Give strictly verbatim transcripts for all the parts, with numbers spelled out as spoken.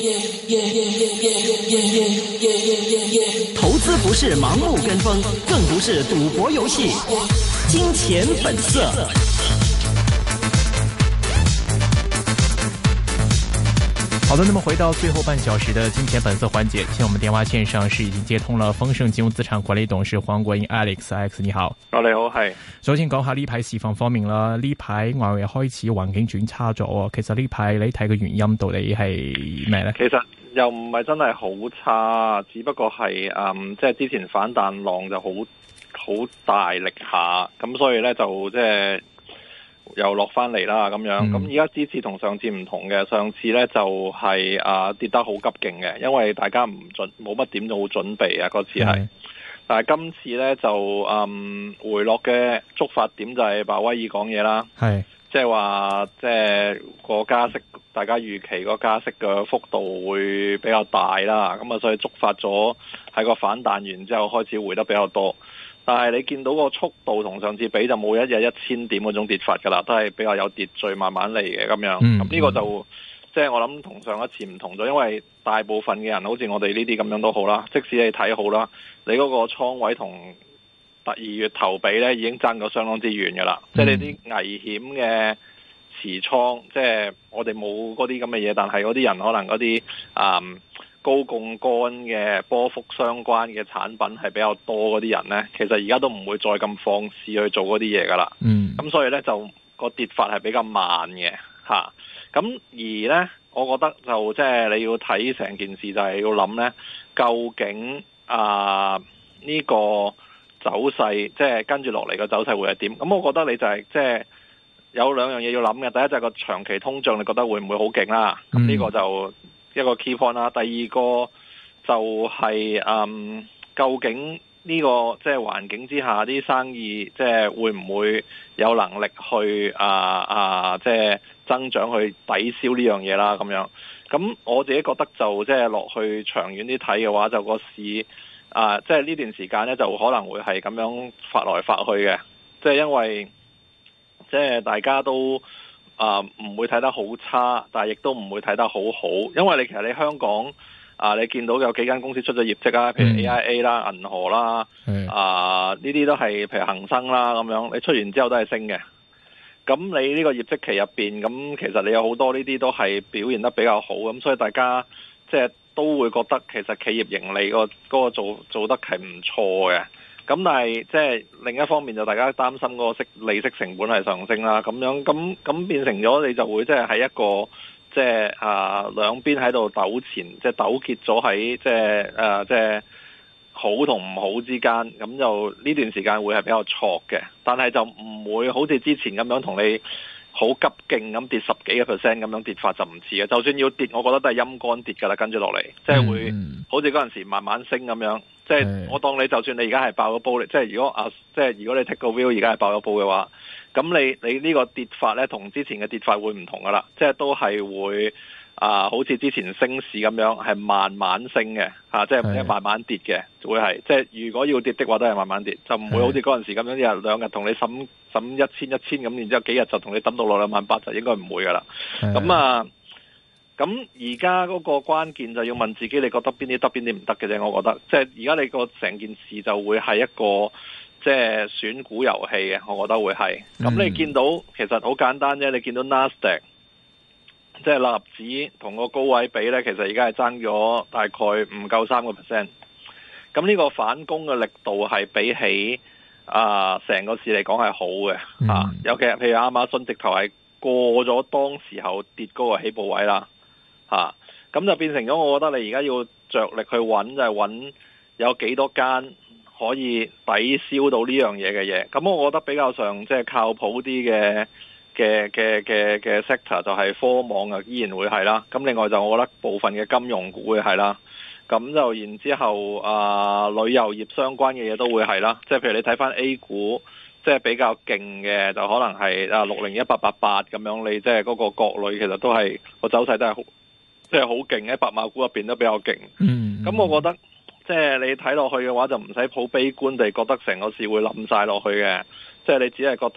投資不是盲目跟風，更不是賭博遊戲。金錢本色。 好的，那麼回到最後半小時的金錢本色環節，現在我們電話線上是已經接通了豐盛金融資產管理董事黃國英 Alex，Alex 你好。 哦，你好，係。 首先講下呢排市況方面啦，呢排外圍開始環境轉差咗，其實呢排你睇嘅原因到底係咩呢？ 其實又唔係真係好差，只不過係嗯，即係之前反彈浪就好好大力下，咁所以呢，就即係。又落翻嚟啦咁樣，咁而家呢次同上次唔同嘅，上次呢就係、是、啊跌得好急勁嘅，因為大家唔準冇乜點做準備啊嗰次係，是但係今次呢，就嗯回落嘅觸發點就係鮑威爾講嘢啦，係即係話即係個加息，大家預期個加息嘅幅度會比較大啦，咁啊所以觸發咗喺個反彈完之後開始回得比較多。但係你見到個速度同上次比就冇一日一千點嗰種跌法噶啦，都係比較有秩序慢慢嚟嘅咁樣。咁呢、嗯、個就即係、就是、我諗同上一次唔同咗，因為大部分嘅人好似我哋呢啲咁樣都好啦，即使你睇好啦，你嗰個倉位同第二月頭比呢已經爭咗相當之遠噶啦。即係、嗯、你啲危險嘅持倉，即、就、係、是、我哋冇嗰啲咁嘅嘢，但係嗰啲人可能嗰啲啊。嗯高槓桿嘅波幅相關嘅產品係比較多嗰啲人呢，其實而家都唔會再咁放肆去做嗰啲嘢噶啦。嗯，咁所以呢，就個跌法係比較慢嘅吓。咁、啊、而呢，我覺得就即係、就是、你要睇成件事就係要諗呢，究竟啊呢、這個走勢即係、就是、跟住落嚟個走勢會係點？咁我覺得你就係即係有兩樣嘢要諗嘅。第一就係個長期通脹，你覺得會唔會好勁啦？咁呢、嗯、個就一個 key point 啦，第二個就係、是、嗯，究竟呢、這個即係環境之下啲生意即係會唔會有能力去啊啊即係增長去抵消呢樣嘢啦咁樣。咁我自己覺得就即係落去長遠啲睇嘅話，就個市啊即係呢段時間咧就可能會係咁樣發來發去嘅，即係因為即係大家都。啊，唔、呃、會睇得好差，但係亦都唔會睇得好好，因為你其實你香港啊、呃，你見到有幾間公司出咗業績啊，譬如 A I A 啦、銀河啦，啊呢啲都係譬如恒生啦咁樣，你出完之後都係升嘅。咁你呢個業績期入邊，咁其實你有好多呢啲都係表現得比較好，咁所以大家即係都會覺得其實企業盈利個嗰個做做得係唔錯嘅。咁但係即係另一方面就大家擔心嗰個息利息成本係上升啦，咁樣咁咁變成咗你就會即係喺一個即係啊兩邊喺度糾纏，即係糾結咗喺即係誒即係好同唔好之間，咁就呢段時間會係比較挫嘅，但係就唔會好似之前咁樣同你好急勁咁跌十幾個 percent 咁樣跌法就唔似嘅，就算要跌，我覺得都係陰乾跌噶啦，跟住落嚟即係會好似嗰陣時慢慢升咁樣。即係我當你就算你而家係爆咗煲，即係如果啊，即係如果你 take 個 view 而家係爆咗煲嘅話，咁你你呢個跌法咧同之前嘅跌法會唔同噶啦，即係都係會啊，好似之前升市咁樣係慢慢升嘅吓、啊，即係唔係慢慢跌嘅，會係即係如果要跌的話都係慢慢跌，就唔會好似嗰陣時咁樣一日兩日同你審審一千一千咁，然之後幾日就同你抌到落兩萬八，就應該唔會噶啦，咁啊。咁而家嗰個關鍵就要問自己，你覺得邊啲得邊啲唔得嘅啫？我覺得，即係而家你個成件事就會係一個即係選股遊戲嘅，我覺得會係。咁、嗯、你見到其實好簡單啫，你見到 Nasdaq 即係納指同個高位比呢，其實而家係爭咗大概唔夠三個 percent。咁呢個反攻嘅力度係比起啊成個市嚟講係好嘅、嗯啊、尤其係譬如亞馬遜直頭係過咗當時候跌嗰個起步位啦。啊，咁就變成咗，我覺得你而家要着力去揾，就係、是、揾有幾多間可以抵消到呢樣嘢嘅嘢。咁我覺得比較上即係靠譜啲嘅嘅嘅嘅嘅 sector 就係科網啊，依然會係啦。咁另外就我覺得部分嘅金融股會係啦。咁就然之後啊，旅遊業相關嘅嘢都會係啦。即係譬如你睇翻 A 股，即係比較勁嘅，就可能係啊六零一八八八咁樣。你即係嗰個國旅其實都係個走勢都係好。即係好勁喺白馬股入邊都比較勁，咁、嗯嗯、我覺得即係你睇落去嘅話就唔使抱悲觀地覺得成個市會冧晒落去嘅，即係你只係覺得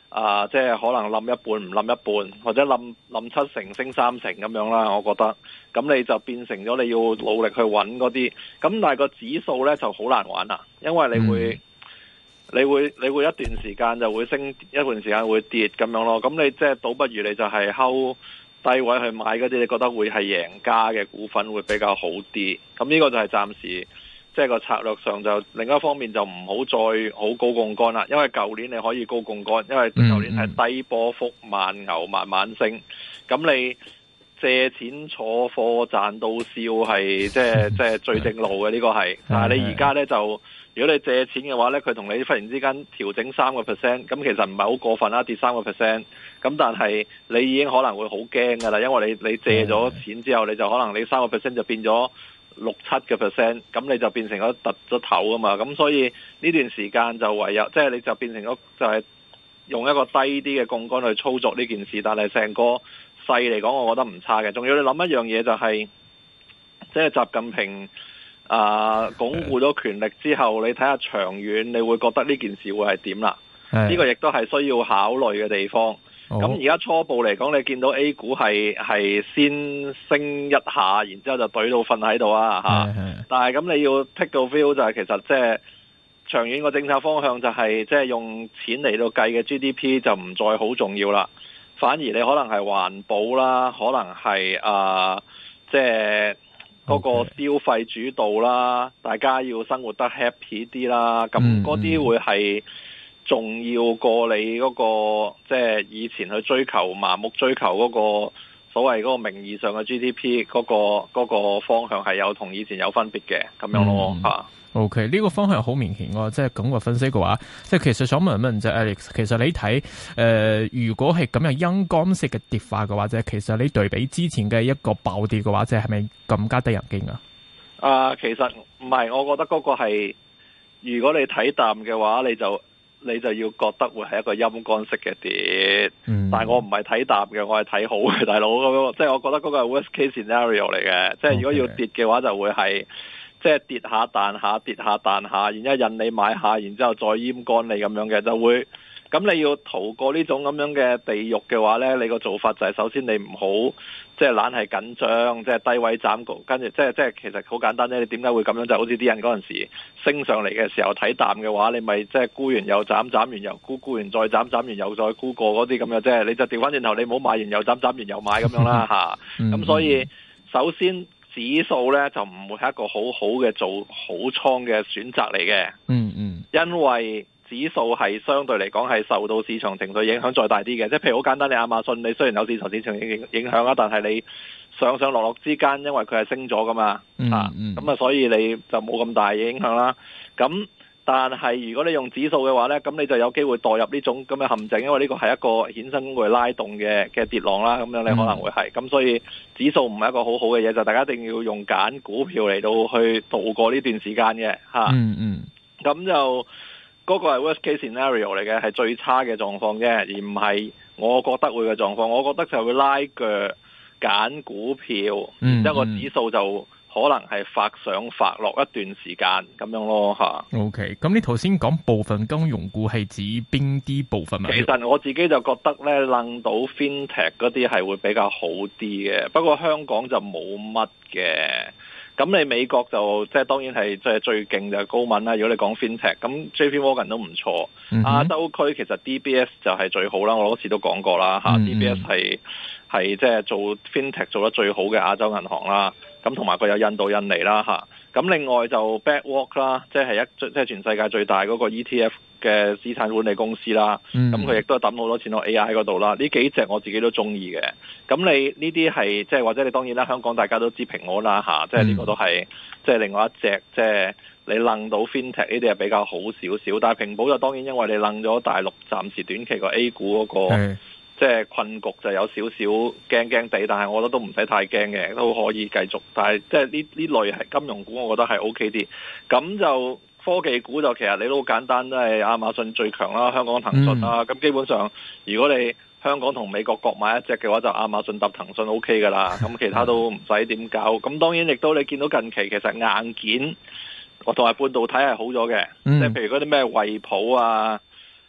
啊，即係可能冧一半唔冧一半，或者冧冧七成升三成咁樣啦，我覺得。咁你就變成咗你要努力去揾嗰啲，咁但係個指數呢就好難玩啦，因為你會、嗯、你會你會一段時間就會升，一段時間會跌咁樣咯。咁你即係倒不如你就係睺低位去買嗰啲，你覺得會係贏家嘅股份會比較好啲。咁呢個就係暫時。即係個策略上就另一方面就唔好再好高槓桿啦，因為舊年你可以高槓桿，因為舊年係低波幅慢牛慢慢升，咁你借錢坐貨賺到笑係即係即係最正路嘅呢個係，但係你而家呢，就如果你借錢嘅話呢，佢同你忽然之間調整三個 percent，咁其實唔係好過分啦，跌三個 percent，咁但係你已經可能會好驚噶啦，因為你你借咗錢之後，你就可能你三個 percent 就變咗六七嘅 percent，咁你就變成咗突咗頭啊嘛，咁所以呢段時間就唯有即係、就是、你就變成咗就係用一個低啲嘅槓桿去操作呢件事，但係成個勢嚟講，我覺得唔差嘅。仲要你諗一樣嘢就係、是，即係習近平啊、呃、鞏固咗權力之後，你睇下長遠，你會覺得呢件事會係點啦？呢個亦都係需要考慮嘅地方。咁而家初步嚟講，你見到 A 股係係先升一下，然之後就懟到瞓喺度啊嚇！但係咁你要 take 到 view 就係其實即係長遠個政策方向就係即係用錢嚟到計嘅 G D P 就唔再好重要啦，反而你可能係環保啦，可能係啊即係嗰個消費主導啦，大家要生活得 happy 啲啦，咁嗰啲會係重要過你嗰個即係以前去追求盲目追求嗰個所謂嗰個名義上嘅 G D P 嗰個嗰個方向係有同以前有分別嘅咁樣咯嚇。 OK，呢個方向好明顯喎，即係咁個分析嘅話，即係其實想問一問就 Alex，其實你睇誒、呃，如果係咁樣陰乾式嘅跌法嘅話，即係其實你對比之前嘅一個暴跌嘅話，即係係咪更加得人驚啊？啊、 呃，其實唔係，我覺得嗰個係如果你睇淡嘅話，你就。你就要覺得會係一個陰乾式嘅跌，嗯、但係我唔係睇淡嘅，我係睇好嘅，大佬咁，即係我覺得嗰個係 worst case scenario 嚟嘅，即係如果要跌嘅話就會係即係跌下彈下跌下彈下，然之後引你買下，然之後再陰乾你咁樣嘅就會。咁你要逃過呢種咁樣嘅地獄嘅話呢，你個做法就係首先你唔好即係懶係緊張，即係低位斬局，跟住即係即係其實好簡單啫。你點解會咁樣？就好似啲人嗰陣時升上嚟嘅時候睇淡嘅話，你咪即係沽完又斬，斬完又沽，沽完再斬，斬完又再沽過嗰啲咁嘅啫。你就調翻轉頭，你唔好買完又斬，斬完又買咁樣啦吓。咁所以首先指數呢，就唔會係一個好好嘅做好倉嘅選擇嚟嘅。嗯嗯，因為指數係相對嚟講係受到市場情緒影響再大啲嘅，即係譬如好簡單，你亞馬遜你雖然有市場市場影影響啊，但係你上上落落之間，因為佢係升咗噶嘛，嗯、啊，咁啊，所以你就冇咁大嘅影響啦。咁但係如果你用指數嘅話呢，咁你就有機會墮入呢種咁嘅陷阱，因為呢個係一個衍生工具拉動嘅嘅跌浪啦，咁樣你可能會係，咁、嗯、所以指數唔係一個好好嘅嘢，就大家一定要用揀股票嚟到去度過呢段時間嘅，吓、啊，嗯嗯，咁就。嗰個係 worst case scenario 嚟嘅，係最差嘅狀況啫，而唔係我覺得會嘅狀況。我覺得就會拉腳揀股票，然之後個指數就可能係發上發落一段時間咁樣咯嚇。OK，咁你頭先講部分金融股係指邊啲部分啊？其實我自己就覺得咧，諗到 FinTech 嗰啲係會比較好啲嘅，不過香港就冇乜嘅。咁你美國就即係當然係即係最勁就係高敏啦。如果你講 FinTech，咁 J P Morgan 都唔錯。嗯、哼亞洲區其實 D B S 就係最好啦。我嗰次都講過啦嚇、嗯、，D B S 係係即係做 FinTech 做得最好嘅亞洲銀行啦。咁同埋佢有印度、印尼啦嚇。咁另外就 BlackRock 啦，即係一即係全世界最大嗰個 E T F 嘅資產管理公司啦。咁佢亦都係抌好多錢落 A I 嗰度啦。呢幾隻我自己都中意嘅。咁你呢啲係即係或者你當然啦，香港大家都知平安啦嚇，即係呢個都係即係另外一隻即係你楞到 FinTech 呢啲係比較好少少。但係平保就當然因為你楞咗大陸暫時短期個 A 股嗰個。即係困局就有少少驚驚地，但係我覺得都唔使太驚嘅，都可以繼續。但係即係呢呢類係金融股，我覺得係 O K 啲。咁就科技股就其實你都好簡單，都係亞馬遜最強啦，香港騰訊啦。咁、嗯、基本上如果你香港同美國各買一隻嘅話，就亞馬遜搭騰訊 O K 噶啦。咁其他都唔使點搞。咁當然亦都你見到近期其實硬件我同埋半導體係好咗嘅，即係、嗯、譬如嗰啲咩惠普啊。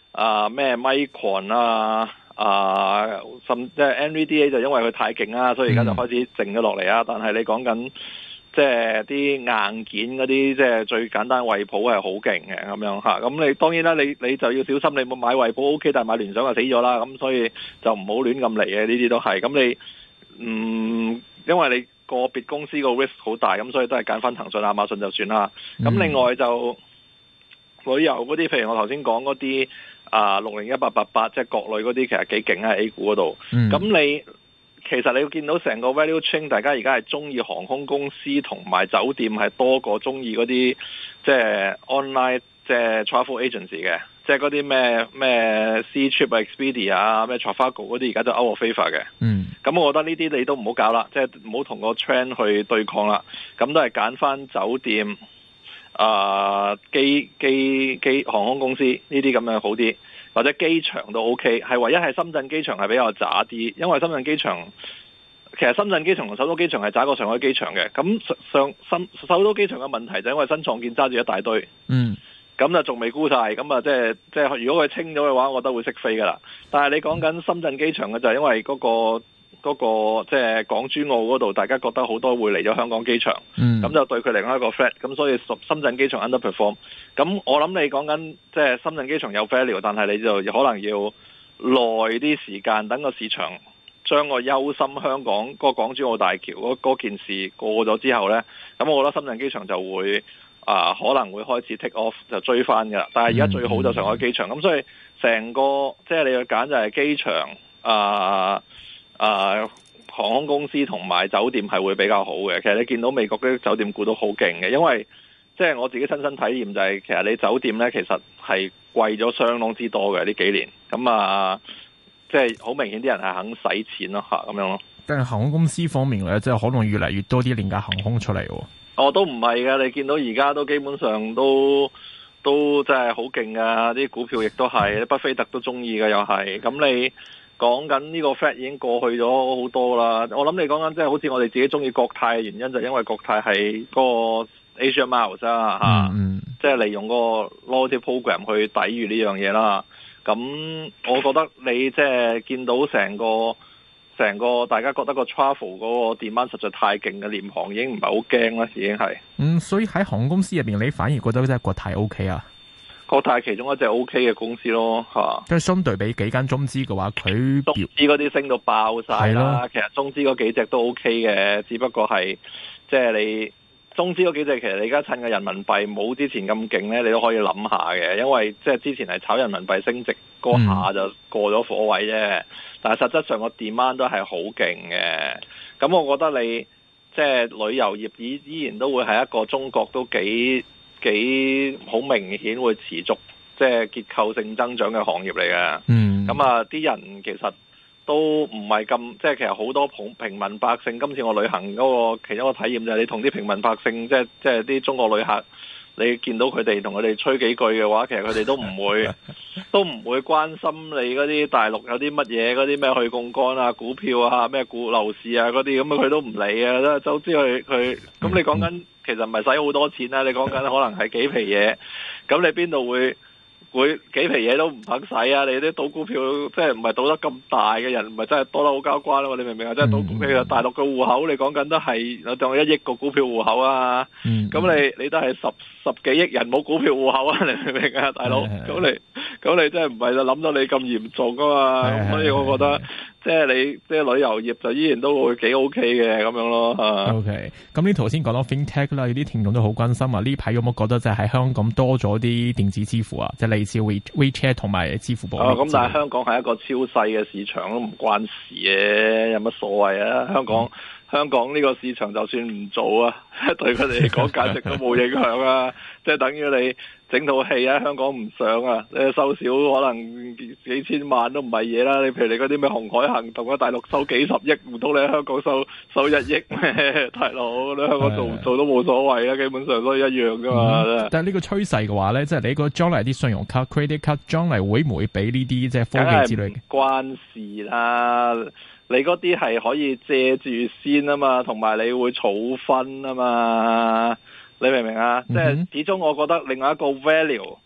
啊咩 Micron 啊啊，甚即係 N V D A 就因為佢太勁啦，所以而家就開始靜咗落嚟啊。但係你講緊即係啲硬件嗰啲，即係最簡單惠普係好勁嘅咁樣嚇。咁你當然啦，你你就要小心，你冇買惠普 OK，但係買聯想就死咗啦。咁所以就唔好亂咁嚟嘅，呢啲都係。咁你嗯，因為你個別公司個 risk 好大，咁所以都係揀翻騰訊、亞馬遜就算啦。咁另外就旅遊嗰啲，譬如我頭先講嗰啲啊六零一八八八，即係國內嗰啲，其實幾勁喺 A 股嗰度。咁、嗯、你其實你要見到成個 value chain，大家而家係中意航空公司同埋酒店係多過中意嗰啲即係 online 即係 travel agency 嘅，即係嗰啲咩咩 Ctrip、Expedia 啊、咩 Trivago 嗰啲，而家都 out of favor 嘅。嗯，咁我覺得呢啲你都唔好搞啦，即係唔好同個 trend 去對抗啦。咁都係揀翻酒店。啊，機機機航空公司呢啲咁樣好啲，或者機場都 OK， 係唯一係深圳機場係比較渣啲，因為深圳機場其實深圳機場同首都機場係渣過上海機場嘅。咁上深首都機場嘅問題就因為新創建揸住一大堆，嗯，咁就仲未沽晒，咁啊即係即係如果佢清咗嘅話，我覺得會識飛噶啦。但係你講緊深圳機場嘅就係因為嗰個。嗰、那個即係港珠澳嗰度，大家覺得好多會嚟咗香港機場，咁、嗯、就對佢另外一個 threat，咁所以深圳機場 underperform。咁我諗你講緊即係深圳機場有 value，但係你就可能要耐啲時間，等個市場將個憂心香港嗰、那個港珠澳大橋嗰件事過咗之後呢，咁我覺得深圳機場就會啊、呃、可能會開始 take off 就追翻㗎啦。但係而家最好就上海機場，咁、嗯、所以成個即係你要揀就係機場啊。呃啊、呃，航空公司同埋酒店係會比較好嘅。其實你見到美國啲酒店股都好勁嘅，因為即係我自己親身體驗就係、是，其實你酒店呢，其實係貴咗相當之多嘅呢幾年。咁啊，即係好明顯啲人係肯使錢咯嚇，咁樣咯。 但係航空公司方面咧，即係可能越嚟越多啲廉價航空出嚟喎。哦， 都唔係㗎，你見到而家都基本上都都真係好勁㗎，啲股票亦都係，巴菲特都中意㗎又係。咁你講緊呢個 fact 已經過去咗好多啦，我諗你講緊即係好似我哋自己中意國泰嘅原因，就因為國泰係嗰個 Asia Miles 啊嚇，即係利用個 loyalty program 去抵禦呢樣嘢啦。咁我覺得你即係見到成個成個大家覺得個 travel 嗰個 demand 實在太勁嘅，廉航已經唔係好驚啦，已經係。 嗯，所以喺航空公司入邊，你反而覺得即係國泰 OK 啊？ 國泰其中一隻 O K 嘅公司咯，嚇。 即係相對比幾間中資嘅話，佢中資嗰啲升到爆晒啦。其實中資嗰幾隻都 O K 嘅，只不過係即係你中資嗰幾隻，其實你而家趁個人民幣冇之前咁勁咧，你都可以諗下嘅。因為即係之前係炒人民幣升值嗰下就過咗火位啫，嗯、但係實質上個 demand 都係好勁嘅。咁我覺得你即係旅遊業依依然都會係一個中國都幾。幾好明顯會持續即係結構性增長嘅行業嚟嘅。嗯，咁啊啲人其實都唔係咁，即係其實好多平平民百姓。今次我旅行嗰個其中一個體驗就係你同啲平民百姓，即係即係啲中國旅客，你見到佢哋同佢哋吹幾句嘅話，其實佢哋都唔會都唔會關心你嗰啲大陸有啲乜嘢嗰啲咩去槓桿啊、股票啊、咩股樓市啊嗰啲，咁佢都唔理啊，都總之佢佢咁你講緊。其實唔係使好多錢啦，你講緊可能係幾皮嘢，咁你邊度會會幾皮嘢都唔肯使啊？你啲賭股票即係唔係賭得咁大嘅人，唔係真係多得好交關咯？你明唔明啊？即係賭股票，大陸嘅戶口你講緊都係我當一億個股票戶口啊，咁、嗯、你你都係十十幾億人冇股票戶口啊？你明唔明啊，大佬？咁你咁你真係唔係就諗到你咁嚴重噶嘛？所以我覺得。即係你，即係旅遊業就依然都會幾 OK 嘅咁樣咯嚇。OK， 咁你頭先講到 FinTech 啦，有啲聽眾都好關心啊。呢排有冇覺得就係喺香港多咗啲電子支付啊？即係類似 We WeChat 同埋支付寶。哦，咁但係香港係一個超細嘅市場，都唔關事嘅，有乜所謂啊？香港、嗯、香港呢個市場就算唔做啊，對佢哋嚟講簡直都冇影響啊！即係等於你。整套戲喺香港唔上啊！你收少可能幾千萬都唔係嘢啦。你譬如你嗰啲咩紅海行動啊，大陸收幾十億，唔通你喺香港收收一億咩？大佬，你香港做唔做都冇所謂啊，基本上都一樣噶嘛。嗯、但係呢個趨勢嘅話咧，即係你個將來啲信用卡、credit card 將來會唔會俾呢啲即係科技之類嘅？關事啦，你嗰啲係可以借住先啊嘛，同埋你會儲分啊嘛。你明唔明啊？嗯、即係始終我覺得另外一個 value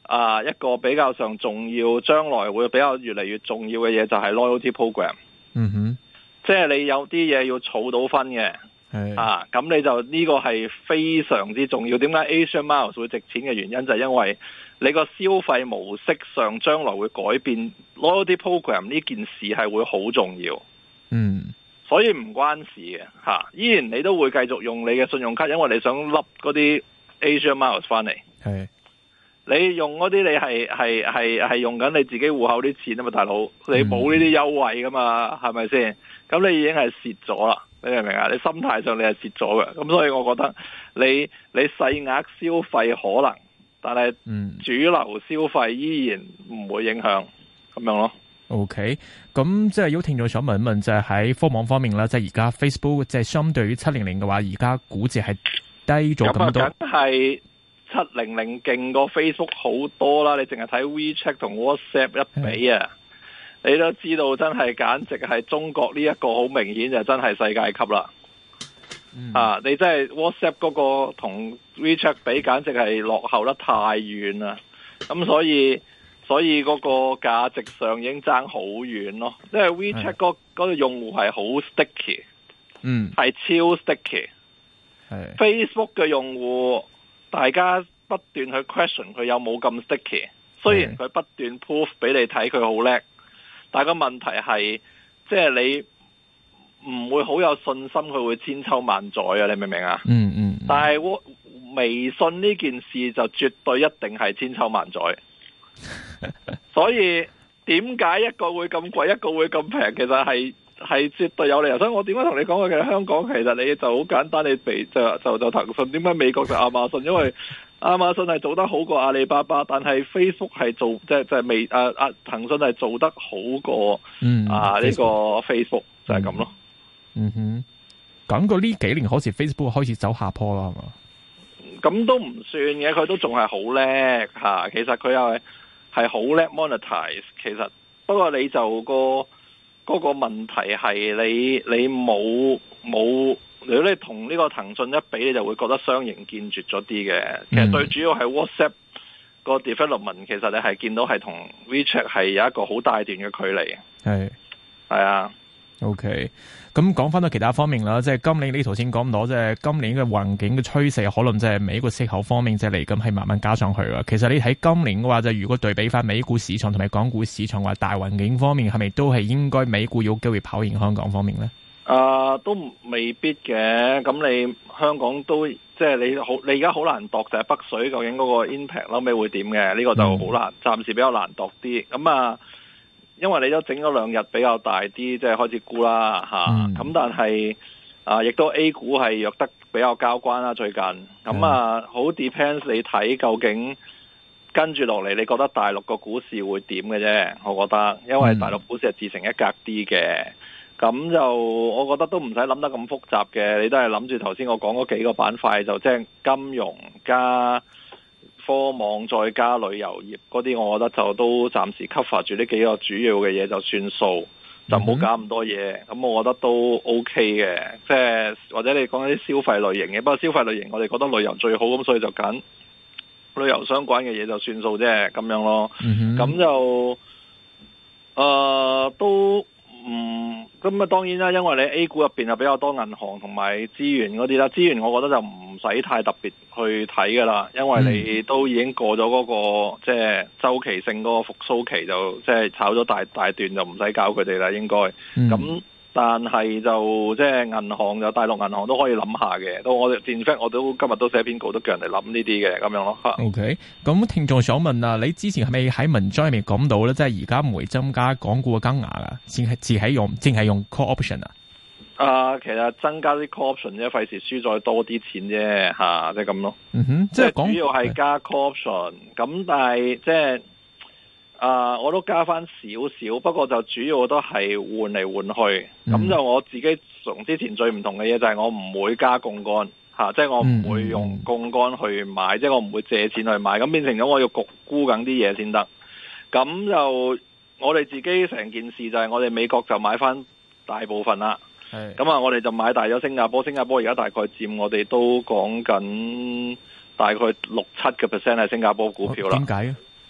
啊一個比較上重要，將來會比較越嚟越重要嘅嘢就係 loyalty program。 嗯哼， 即係你有啲嘢要儲到分嘅，啊咁你就呢個係非常之重要。點解 Asia Miles 會值錢嘅原因就係因為你個消費模式上將來會改變，loyalty program 呢件事係會好重要。 嗯， 所以唔關事嘅吓、啊，依然你都會繼續用你嘅信用卡，因為你想笠嗰啲 Asia Miles 翻嚟。 係你用嗰啲你係係係係用緊你自己戶口啲錢啊嘛，大佬，你冇呢啲優惠噶嘛，係咪先？咁你已經係蝕咗啦，你明唔明啊？你心態上你係蝕咗嘅，咁所以我覺得你你細額消費可能，但係主流消費依然唔會影響咁樣咯。 OK，咁即係有聽眾想問一問，就係喺科網方面啦，即係而家 Facebook 即係相對於七零零嘅話，而家估值係低咗咁多。咁啊，梗係七零零勁過 Facebook 好多啦！你淨係睇 WeChat 同 WhatsApp 一比啊，你都知道真係簡直係中國呢一個好明顯就真係世界級啦。嗯、啊，你真係 WhatsApp 嗰個同 WeChat 比，簡直係落後得太遠啦。咁所以所以嗰個價值上已經爭好遠咯。因為 WeChat 嗰嗰個用戶係好 sticky， 嗯， 係超 sticky。係 Facebook 嘅用戶。大家不斷去 question 佢有冇咁 sticky， 雖然佢不斷 proof 俾你睇佢好叻，但係個問題係，即係你唔會好有信心佢會千秋萬載啊！你明唔明啊？ 嗯嗯。 但係微信呢件事就絕對一定係千秋萬載，所以點解一個會咁貴，一個會咁平？其實係係絕對有理由。所以我點解同你講嘅？其實香港其實你就好簡單，你被就就就騰訊。點解美國就亞馬遜？因為亞馬遜係做得好過阿里巴巴，但係 Facebook 係做即係即係未啊啊騰訊係做得好過、嗯、啊呢、這個 Facebook 就係咁咯。 嗯哼，感覺呢幾年好似 Facebook 開始走下坡啦，係嘛？ 咁都唔算嘅，佢都仲係好叻吓。其實佢又係係好叻 monetize。其實不過你就個。嗰個問題係你你冇冇，如果你同呢個騰訊一比，你就會覺得雙贏見絕咗啲嘅。其實最主要係 WhatsApp 個 development，其實你係見到係同 WeChat 係有一個好大段嘅距離。係係啊。 OK，咁講翻到其他方面啦，即係今年呢頭先講到，即係今年嘅環境嘅趨勢，可能即係美國息口方面即係嚟緊係慢慢加上去啦。其實你睇今年嘅話，就如果對比翻美股市場同埋港股市場話，大環境方面係咪都係應該美股有機會跑贏香港方面呢？啊、呃， 都未必嘅。咁你香港都即係你好，你而家好難度就係北水究竟嗰個 impact 後尾會點嘅？呢、這個就好難，暫、嗯、時比較難度啲。咁啊。因為你都整咗兩日比較大啲，即係開始沽啦吓，咁、嗯、但係啊，亦都 A 股係弱得比較交關啦最近，咁、嗯、啊好 depends 你睇究竟跟住落嚟，你覺得大陸個股市會點嘅啫？我覺得，因為大陸股市係自成一格啲嘅，咁、嗯、就我覺得都唔使諗得咁複雜嘅，你都係諗住頭先我講嗰幾個板塊，就即係金融加科網再加旅遊業嗰啲，我覺得就都暫時 cover 住呢幾個主要嘅嘢就算數，就唔好搞咁多嘢。咁我覺得都 OK 嘅，即係或者你講啲消費類型嘅，不過消費類型我哋覺得旅遊最好，咁所以就揀旅遊相關嘅嘢就算數啫，咁樣咯。咁、mm-hmm. 就誒、呃、都唔咁啊，當然啦，因為你 A 股入邊係比較多銀行同埋資源嗰啲啦，資源我覺得就唔使太特別去睇噶啦，因為你都已經過咗嗰、那個即係、就是、周期性嗰個復甦期，就即係、就是、炒咗大大段就唔使搞佢哋啦，應該。咁、嗯、但係就即係銀行就大陸銀行都可以諗下嘅，都我哋 in fact 我都今日都寫篇稿都叫人哋諗呢啲嘅咁樣咯。 OK，咁聽眾想問啊，你之前係咪喺文章入面講到咧，即係而家唔會增加港股嘅金額啊，先係只係用淨係用 call option 啊？ 啊，其實增加啲 call option 啫，費事輸再多啲錢啫，吓，即係咁咯。 嗯哼，即係主要係加 call option，咁但係即係啊，我都加翻少少，不過就主要都係換嚟換去。咁、嗯、就我自己從之前最唔同嘅嘢就係我唔會加槓桿吓，即係我唔會用槓桿去買，嗯、即係我唔會借錢去買，咁變成咗我要焗沽緊啲嘢先得。咁就我哋自己成件事就係我哋美國就買翻大部分啦。咁啊，我哋就買大咗新加坡，新加坡而家大概佔我哋都講緊大概六七個 percent 係新加坡股票啦。點解啊？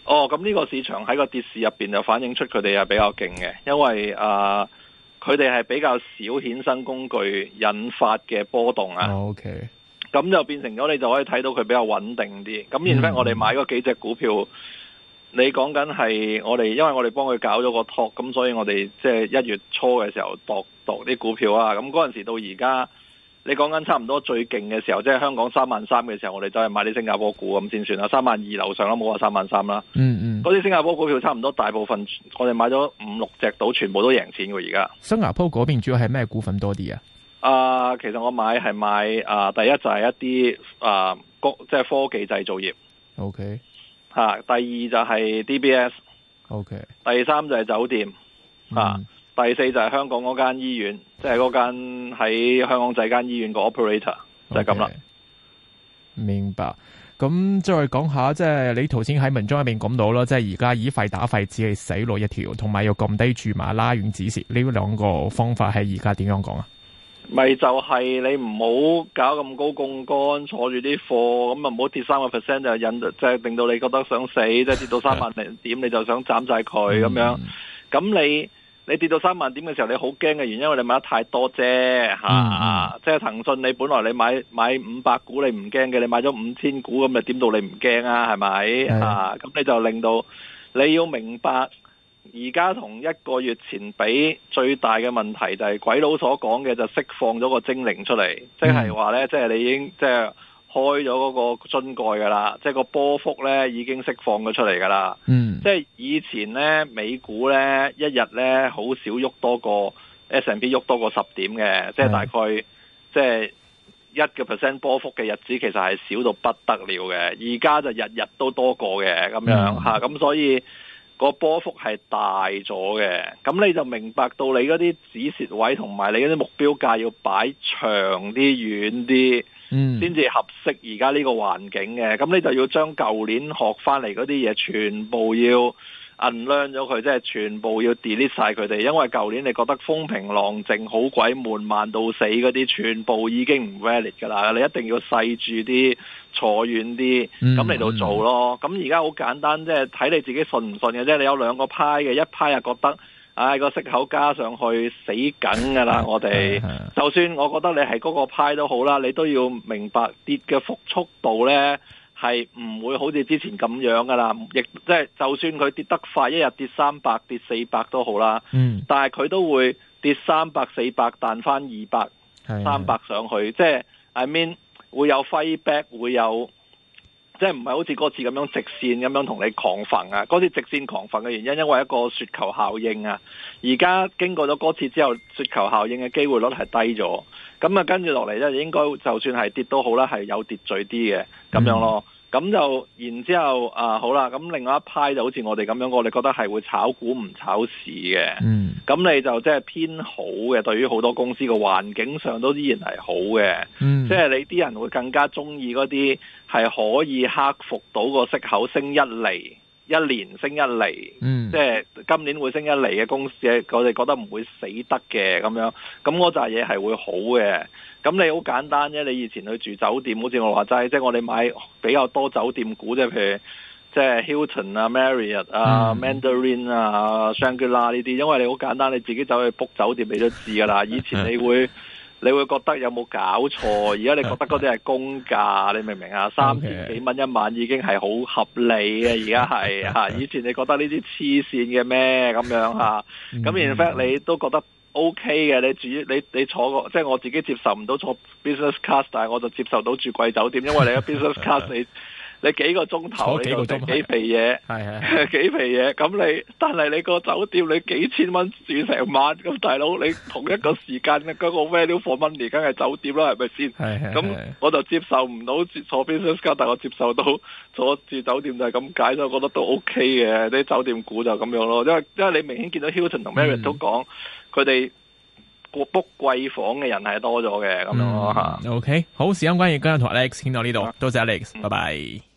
哦，咁呢個市場喺個跌市入邊就反映出佢哋係比較勁嘅，因為啊，佢哋係比較少衍生工具引發嘅波動啊。 哦、OK， 咁就變成咗你就可以睇到佢比較穩定啲。咁然後我哋買嗰幾隻股票，嗯、你講緊係我哋，因為我哋幫佢搞咗個 talk， 咁所以我哋即係一月初嘅時候度度啲股票啊。咁嗰陣時到而家。你講緊差唔多最勁嘅時候，即係香港三萬三嘅時候，我哋就係買啲新加坡股咁先算啦。三萬二樓上啦，冇話三萬三啦。嗯嗯，嗰啲新加坡股票差唔多大部分，我哋買咗五六隻到，全部都贏錢嘅而家。 新加坡嗰邊主要係咩股份多啲啊？ 啊、呃，其實我買係買啊、呃，第一就係一啲啊，即、呃、係科技製造業。O K。嚇，第二就係 D B S。O K。第三就係酒店。嚇、啊。嗯第四就係香港嗰間醫院，即係嗰間喺香港仔間醫院個 operator， 就係咁啦。 明白。咁再講下，即係你頭先喺文章入面講到啦，即係而家以廢打廢只係死路一條，同埋要撳低注碼拉遠止蝕，呢兩個方法係而家點樣講啊？咪就係你唔好搞咁高槓桿，坐住啲貨，咁啊唔好跌三個 percent 就引，即係令到你覺得想死，即係跌到三萬零點你就想斬晒佢咁樣。咁你你跌到三萬點嘅時候，你好驚嘅原因，因為你買得太多啫嚇、嗯啊。即係騰訊，你本來你買買五百股你唔驚嘅，你買咗五千股咁，你點到你唔驚啊？係咪嚇？咁你就令到你要明白，而家同一個月前比，最大嘅問題就係鬼佬所講嘅就釋放咗個精靈出嚟，即係話呢，即係你已經即係。開咗嗰個樽蓋噶啦，即係個波幅咧已經釋放咗出嚟噶啦。嗯，即係以前咧美股咧一日咧好少喐多過 S and P 喐多過十點嘅，即係大概即係一個 percent 波幅嘅日子，其實係少到不得了嘅。而家就日日都多過嘅咁樣吓，咁、嗯啊、所以個波幅係大咗嘅。咁你就明白到你嗰啲止蝕位同埋你嗰啲目標價要擺長啲、遠啲。嗯，先至合適而家呢個環境嘅，咁你就要將舊年學翻嚟嗰啲嘢全部要 unlearn 咗佢，即係全部要 delete 晒佢哋，因為舊年你覺得風平浪靜好鬼悶慢到死嗰啲，全部已經唔 valid 噶啦，你一定要細住啲，坐遠啲，咁嚟到做咯。咁而家好簡單，即係睇你自己信唔信嘅啫。你有兩個派嘅，一派又覺得。唉，個息口加上去死梗噶啦！我哋就算我覺得你係嗰個派都好啦，你都要明白跌嘅幅速度呢係唔會好似之前咁樣噶啦。亦即係就算佢跌得快，一日跌三百、跌四百都好啦。嗯，但係佢都會跌三百、四百，彈翻二百、三百上去。即係 I mean 會有 fight back，會有。即係唔係好似嗰次咁樣直線咁樣同你狂焚啊？嗰次直線狂焚嘅原因，因為一個雪球效應啊。而家經過咗嗰次之後，雪球效應嘅機會率係低咗。咁啊，跟住落嚟咧，應該就算係跌都好啦，係有秩序啲嘅咁樣咯。咁就然之後啊，好啦，咁另外一派就好似我哋咁樣，我哋覺得係會炒股唔炒市嘅。嗯，咁你就即係偏好嘅，對於好多公司個環境上都依然係好嘅。嗯，即係你啲人會更加中意嗰啲係可以克服到個息口升一厘，一年升一厘。嗯，即係今年會升一厘嘅公司，我哋覺得唔會死得嘅咁樣。咁嗰扎嘢係會好嘅。咁你好簡單啫，你以前去住酒店，好似我話齋，即係我哋買比較多酒店股，即係譬如即係 Hilton 啊、Marriott 啊、嗯、Mandarin 啊、Shangri-La 呢啲，因為你好簡單，你自己走去 book 酒店你都知噶啦。以前你會你會覺得有冇搞錯，而家你覺得嗰啲係公價，你明唔明啊？三千幾蚊一晚已經係好合理嘅，而家係吓。以前你覺得呢啲黐線嘅咩咁樣吓？咁 in fact 你都覺得。O K 嘅，你住你你坐個即係我自己接受唔到坐 business class， 但係我就接受到住貴酒店，因為你個 business class 你你幾個鐘頭你就食幾肥嘢，係係幾肥嘢，咁你但係你個酒店你幾千蚊住成晚，咁大佬你同一個時間嘅嗰個 value for money 梗係酒店啦，係咪先？係係咁我就接受唔到坐 business class，但係我接受到坐住酒店就係咁解，所以我覺得都 O K 嘅，啲酒店股就咁樣咯，因為因為你明顯見到 Hilton 同 Marriott 都講。佢哋個 book 貴房嘅人係多咗嘅咁樣咯吓。OK， 好，時間關係，今日同 Alex 傾到呢度，多謝 Alex，拜拜。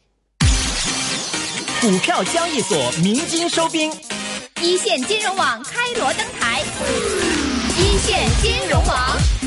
股票交易所鳴金收兵，一線金融網開鑼登台，一線金融網。